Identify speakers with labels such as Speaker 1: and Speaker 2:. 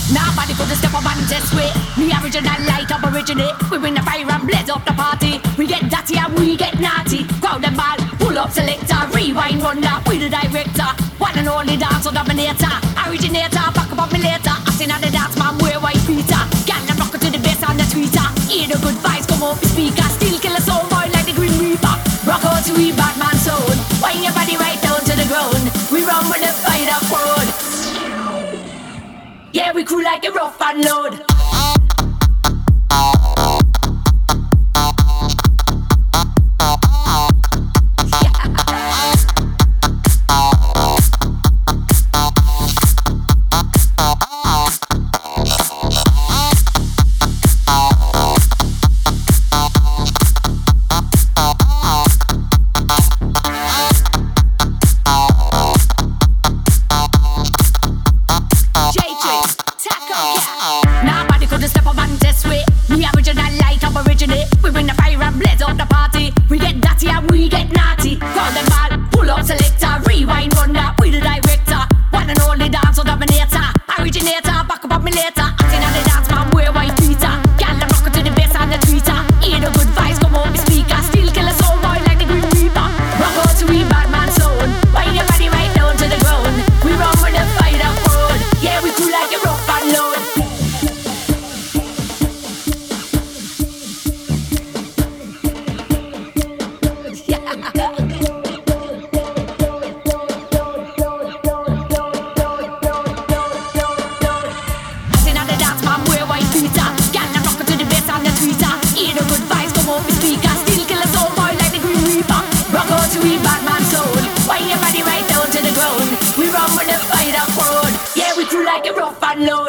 Speaker 1: Nobody could step up and test way. Me original light up originate. We bring the fire and blaze up the party. We get dirty and we get naughty. Crowd the ball, pull up selector, rewind wonder. We the director, one and only dancer dominator. Originator, back up on me later. I seen on the dance man wear white Peter. Gal them rock to the bass on the tweeter. Hear the good vibes come up the speaker. Still kill a soul boy like the Green Reaper. Rock out to we Batman soul. Wind your body right down to the ground. We run with the fight up road. Yeah, we cool like a rough and load. Like a rough and load.